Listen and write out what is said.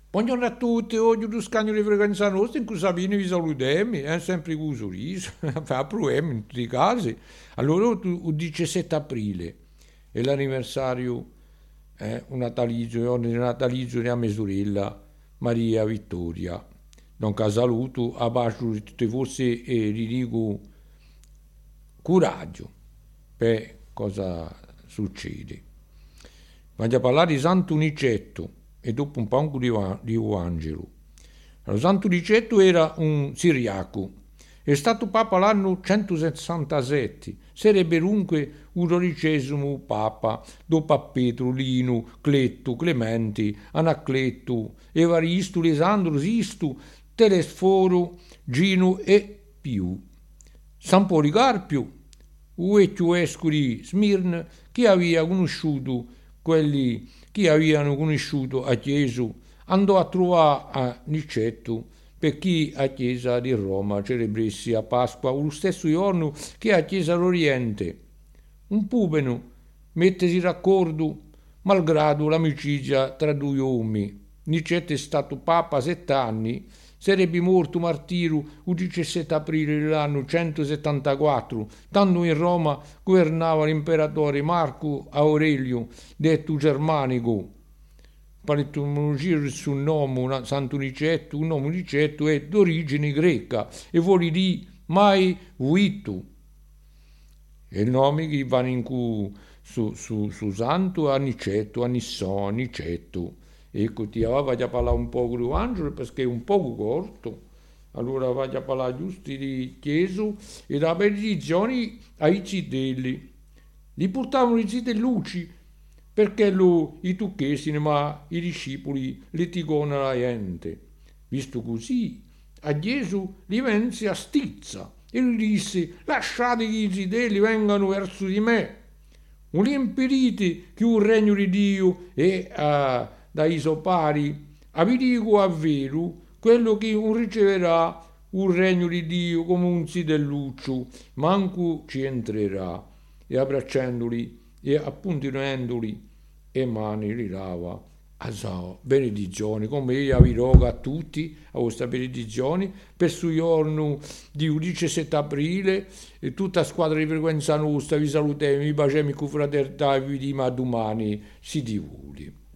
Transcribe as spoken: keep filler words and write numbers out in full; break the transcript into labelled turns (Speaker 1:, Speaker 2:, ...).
Speaker 1: Buongiorno a tutti, oggi lo scagno di frequenza nostra in cui Sabine vi salutiamo, è sempre con un sorriso, fa proviamo in tutti i casi. Allora, tu- il diciassette aprile è l'anniversario, eh, un natalizio, il natalizio di mia sorella Maria Vittoria. Non saluto, a pace di tutti voi e vi dico coraggio per cosa succede. Voglio parlare di Santo Nicetto e dopo un po' di, Va- di Angelo. Allora, Santo Nicetto era un siriaco, è stato papa l'anno centosessantasette, sarebbe dunque un dodicesimo papa, dopo a Pietro, Lino, Cletto, Clementi, Anacleto, Evaristo, Lisandro, Sisto, Telesforo, Gino e Più. San Policarpio, il vecchio vescovo di Smirne, che aveva conosciuto quelli che avevano conosciuto a Gesù, andò a trovare a Nicetto perché a Chiesa di Roma celebrassi a Pasqua lo stesso giorno che a Chiesa d'Oriente. Un pubeno mettesi d'accordo malgrado l'amicizia tra due uomini. Nicetto è stato papa sette anni, sarebbe morto martiro il diciassette aprile dell'anno centosettantaquattro, tanto in Roma governava l'imperatore Marco Aurelio, detto Germanico. Per l'etimologia del suo nome, Santo Nicetto, un nome Nicetto è d'origine greca e vuol dire mai vuito. È il nome che va in cui su, su, su santo a Nicetto, a Nissò, a Nicetto. Ecco, ti voglio parlare un po' di Angelo perché è un po' corto. Allora voglio parlare giusto di Gesù e da benedizione ai cidelli. Li portavano i cidellucci perché lo, i tucchessi, ma i discepoli litigano la gente. Visto così, a Gesù gli venne a stizza e gli disse: lasciate che i cidelli vengano verso di me. Non li impedite che un regno di Dio è uh, dai suoi pari. Vi dico a vero, quello che un riceverà un regno di Dio come un sidelluccio, manco ci entrerà. E abbracciandoli e appuntinendoli e mani li lava a so, benedizioni, come io vi rogo a tutti, a questa benedizione, per sul giorno di diciassette aprile, e tutta squadra di frequenza nostra, vi salutiamo, vi baciamo con fraternità e vi diamo a domani, si divuli.